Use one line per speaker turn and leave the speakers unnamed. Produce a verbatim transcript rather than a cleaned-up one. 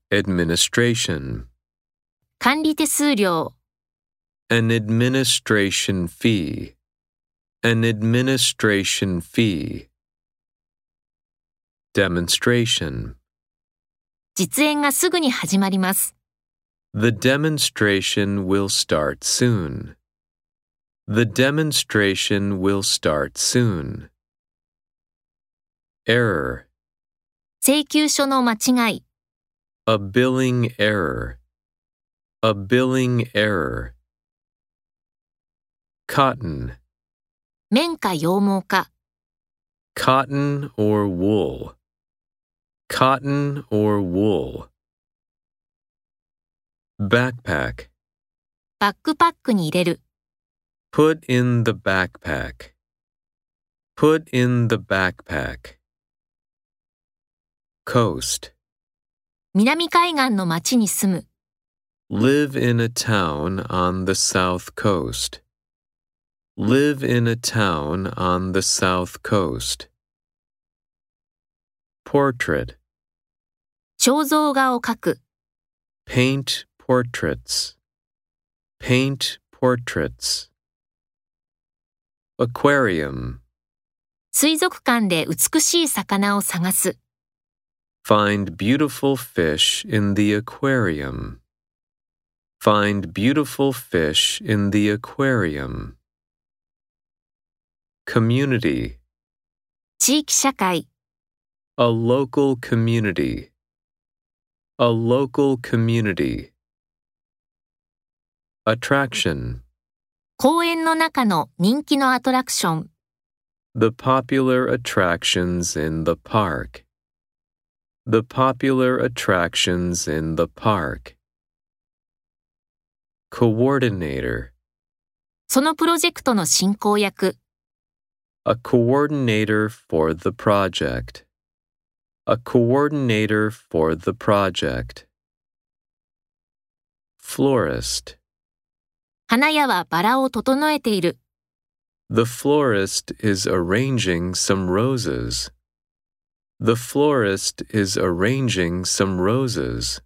Administration.
管理手数料
An administration fee. An administration fee. Demonstration.
実演がすぐに始まります。
The demonstration will start soon. The demonstration will start soon. Error.
請求書の間違い
A billing error. A billing error. Cotton.
綿か羊毛か
Cotton or wool. Cotton or wool. Backpack.
バックパックに入れる
Put in the backpack. Put in the backpack. Coast.
南海岸の町に住む
Live in a town on the south coast. Live in a town on the south coast. Portrait.
肖像画を描く
Paint portraits. Paint portraits. Aquarium.
水族館で美しい魚を探す
Find beautiful fish in the aquarium. Find beautiful fish in the aquarium. Community.
地域社会
A local community. A local community. Attraction.
公園の中の人気のアトラクション
The popular attractions in the park. The popular attractions in the park. Coordinator.
そのプロジェクトの進行役
A coordinator for the project. A coordinator for the project. Florist.
花屋はバラを整えている
The florist is arranging some roses. The florist is arranging some roses.